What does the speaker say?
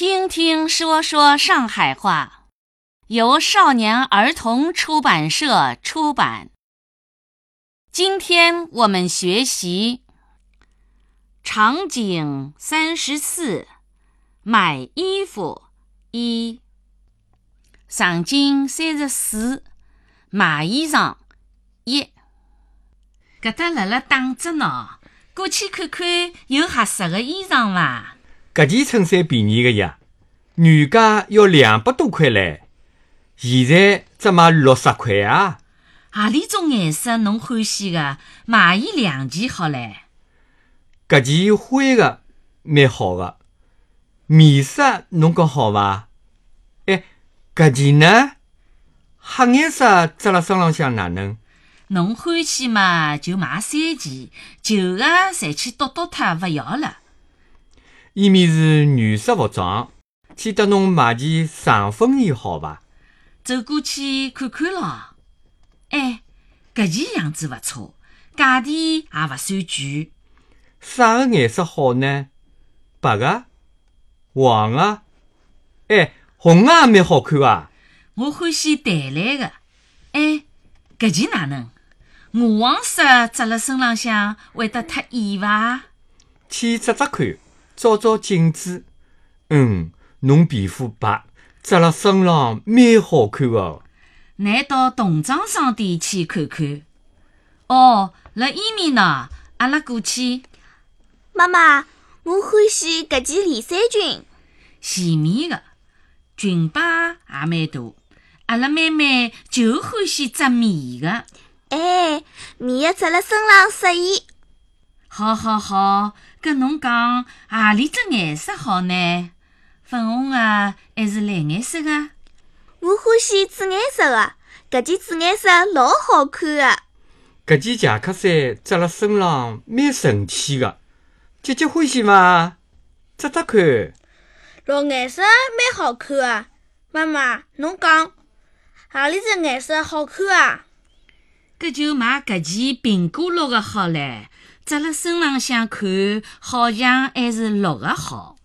听听说说上海话，由少年儿童出版社出版。今天我们学习场景34，买衣服1。场景34，买衣裳1。搿搭辣辣打折呢，过去看看有合适的衣裳伐？ 搿件衬衫便宜个呀，原价要200多块唻，现在只卖60块啊。 何里种颜色侬欢喜个，买伊2件好唻。 搿件灰个蛮好个，米色侬讲好伐？搿件呢？黑颜色扎辣身浪向哪能？ 侬欢喜嘛就买3件，旧个侪去剁脱勿要了。 伊面是女士服装，去搭侬买件长风衣好伐？ 走过去看看咯。搿件样子勿错，价钿也勿算贵。 啥个颜色好呢？白个、黄个，红个也蛮好看啊。 我欢喜淡蓝个。搿件哪能？鹅黄色扎辣身浪向会得太艳伐？ 去扎扎看，照照镜子。侬皮肤白，扎辣身浪蛮好看个。 乃到童装商店去看看。辣伊面呢，阿拉过去。 妈妈，我欢喜搿件连衫裙， 前面的裙摆也蛮大，阿拉妹妹就欢喜扎棉的。 棉的扎辣身浪适宜。 好，搿侬讲何里只颜色好呢？粉红的还是蓝颜色的？ 我欢喜紫颜色的，搿件紫颜色老好看的。 搿件夹克衫扎辣身浪蛮神气个，姐姐欢喜伐？扎扎看。 绿颜色蛮好看的，妈妈，侬讲何里只颜色好看啊？ 搿就买搿件苹果绿的好唻，扎辣身浪向看，好像还是绿的好。